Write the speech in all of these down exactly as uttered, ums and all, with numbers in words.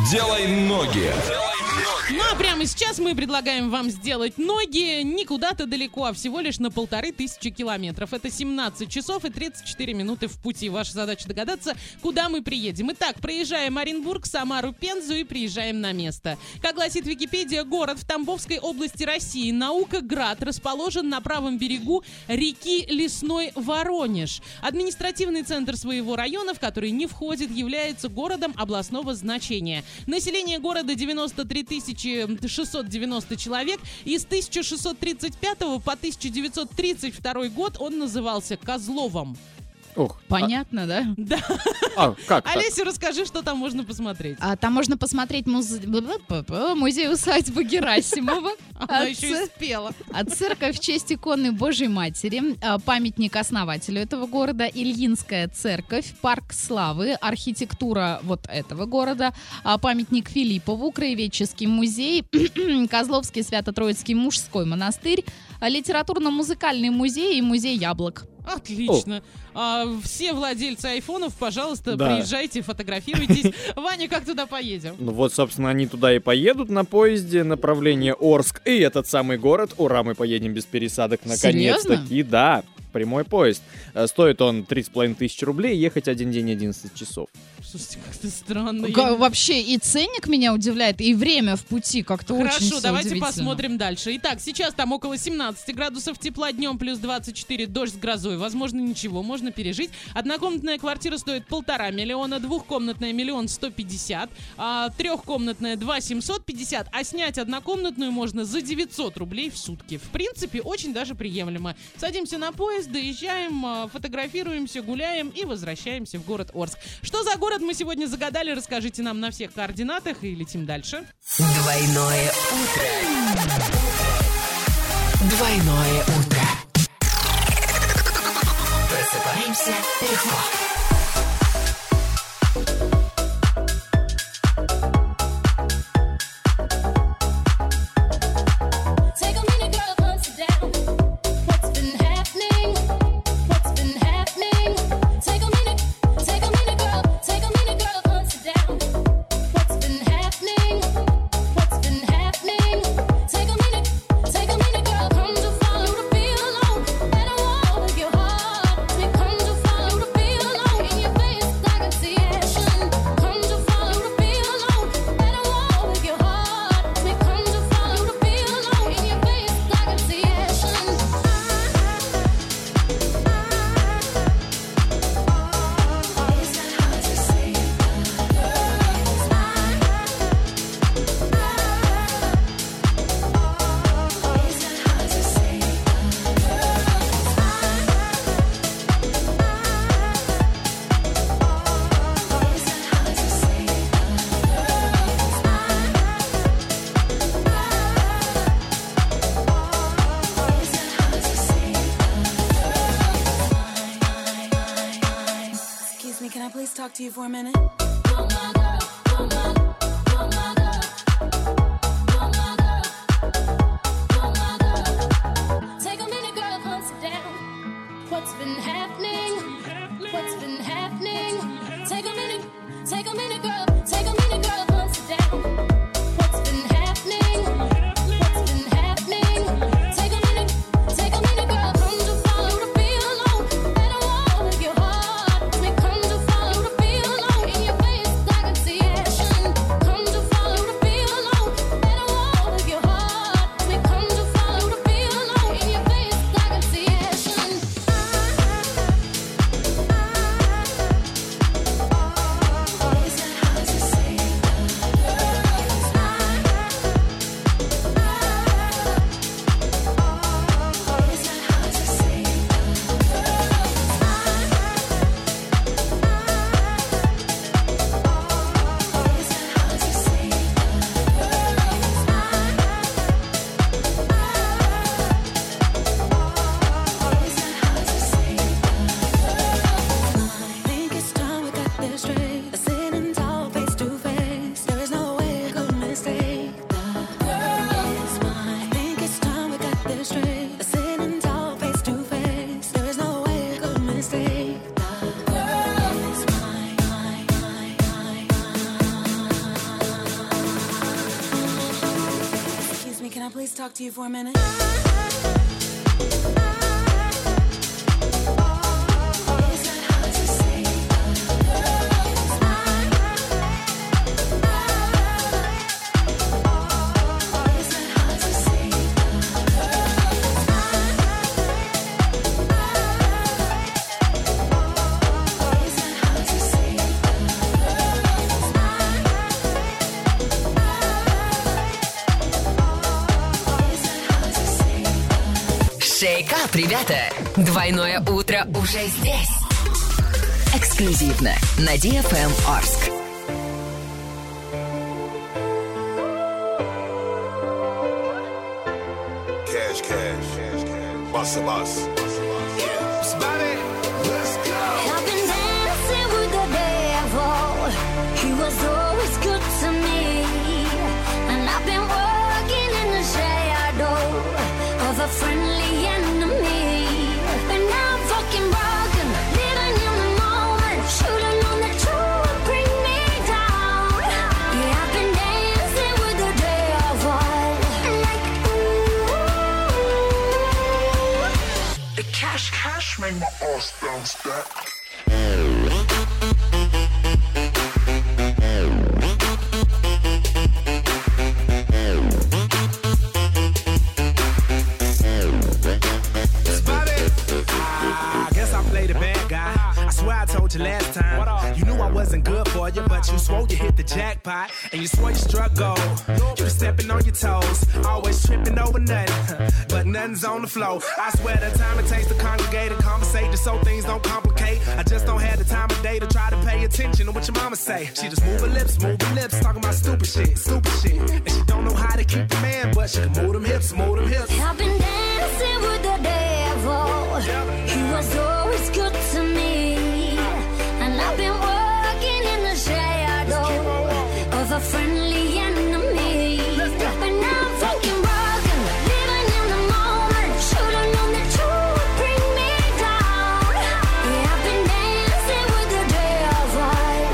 Делай ноги. Ну а прямо сейчас мы предлагаем вам сделать ноги не куда-то далеко, а всего лишь на полторы тысячи километров. Это семнадцать часов и тридцать четыре минуты в пути. Ваша задача догадаться, куда мы приедем. Итак, проезжаем Оренбург, Самару, Пензу и приезжаем на место. Как гласит Википедия, город в Тамбовской области России, Наукоград, расположен на правом берегу реки Лесной Воронеж. Административный центр своего района, в который не входит, является городом областного значения. Население города девяносто три тысячи шестьсот девяносто человек, и с тысяча шестьсот тридцать пятого по тысяча девятьсот тридцать второй год он назывался Козловом. Ох, Понятно, а... да? Да. А, как Олеся, расскажи, что там можно посмотреть. А, там можно посмотреть муз... музей-усадьбы Герасимова. Она еще и спела. А церковь в честь иконы Божьей Матери, памятник основателю этого города, Ильинская церковь, парк славы, архитектура вот этого города, памятник Филиппову, краеведческий музей, Козловский Свято-Троицкий мужской монастырь, литературно-музыкальный музей и музей яблок. Отлично. А, все владельцы айфонов, пожалуйста, Да. приезжайте, фотографируйтесь. Ваня, как туда поедем? Ну вот, собственно, они туда и поедут на поезде, направление Орск и этот самый город. Ура, мы поедем без пересадок наконец-таки. Да, прямой поезд. Э, Стоит он три с половиной тысячи рублей, ехать один день одиннадцать часов. Слушайте, как-то странно. Га- Я- Вообще и ценник меня удивляет, и время в пути как-то очень Хорошо, всё давайте удивительно. посмотрим дальше. Итак, сейчас там около семнадцати градусов тепла, днем плюс двадцать четыре, дождь с грозой. Возможно, ничего, можно пережить. Однокомнатная квартира стоит полтора миллиона, двухкомнатная миллион сто пятьдесят, а, трехкомнатная два семьсот пятьдесят, а снять однокомнатную можно за девятьсот рублей в сутки. В принципе, очень даже приемлемо. Садимся на поезд, доезжаем, а, фотографируемся, гуляем и возвращаемся в город Орск. Что за город мы сегодня загадали, расскажите нам на всех координатах и летим дальше. Двойное утро. Двойное утро. Просыпаемся легко. Can I please talk to you for a minute? Take a minute, girl, come sit down. What's been happening? What's been happening? Take a minute, take a minute, girl. Take a minute, girl, come sit down. What's been happening? What's been happening? Take a minute, take a minute, girl. Come to follow the feel alone. And I wanna make your heart. We come to follow the feel alone. In your I please talk to you for a minute? Шейкап, ребята! Двойное утро уже здесь. Эксклюзивно на ди эф эм Орск. Cash, cash, cash, cash. Bust a bus. I've been dancing with the devil. He was always good to me. And I've been working in the shadow of a friendly enemy. But now I'm fucking broken, living in the moment. Should've known that you would bring me down. Yeah, I've been dancing with the devil. Like, ooh. The cash, cash make my ass bounce back. Last time, you knew I wasn't good for you, but you swore you hit the jackpot, and you swore you struck gold. You were stepping on your toes, always tripping over nothing, but nothing's on the floor. I swear the time it takes to congregate and conversate just so things don't complicate. I just don't have the time of day to try to pay attention to what your mama say. She just move her lips, move her lips, talking about stupid shit, stupid shit. And she don't know how to keep the man, but she can move them hips, move them hips. I've been dancing with the devil. He was always good to me. And I've been working in the shadow of a friendly enemy. But now I'm fucking broken, living in the moment. Should've known that you would bring me down. Yeah, I've been dancing with the devil.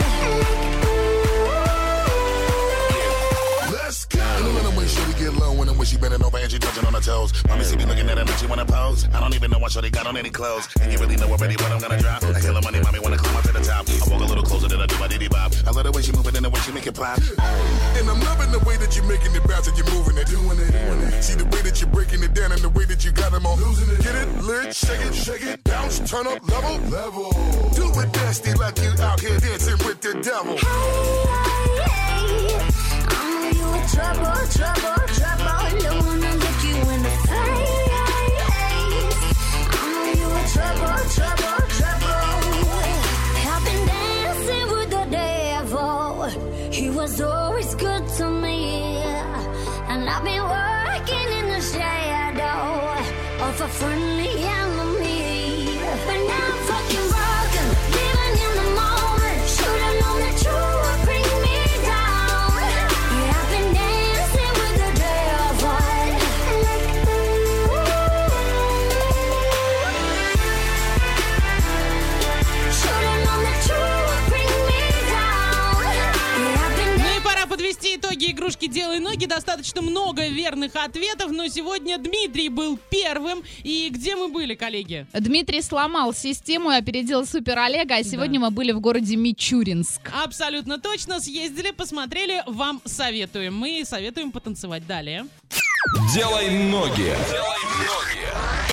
Like, ooh. Let's go. You know the way shorty get low when, when she bending over and she touching on her toes. Mommy see me looking at her like she wanna pose. I don't even know what shorty got on any clothes. And you really know already what I'm gonna drop. I kill the money, mommy wanna climb up to the top. I walk a little closer than I do my diddy bop. I love the way she move it and the way she make it pop. And I'm loving the way that you're making it bounce and you're moving it, doing it, doing it. See the way that you're breaking it down and the way that you got them on losing it. Get it, lit, shake it, shake it, bounce, turn up, level, level. Do it nasty like you out here dancing with the devil. Hey, hey, hey. I know you in trouble, trouble, trouble. Don't wanna look you in the face. I know you in trouble, trouble, trouble. I've been dancing with the devil. He was always good to me. And I've been working in the shadow of a friendly enemy. But now I'm fucking broken, living in the moment. Should've known that you would bring me down. Yeah, I've been dancing with the devil. Like, ooh. Should've known that you would bring me down. Yeah, I've been Ну и пора подвести итоги игрушки «Делай ноги». Достаточно много верных ответов, но сегодня Дмитрий был первым. И где мы были, коллеги? Дмитрий сломал систему и опередил Супер Олега, а сегодня мы были в городе Мичуринск. Абсолютно точно. Съездили, посмотрели. Вам советуем. Мы советуем потанцевать далее. Делай ноги.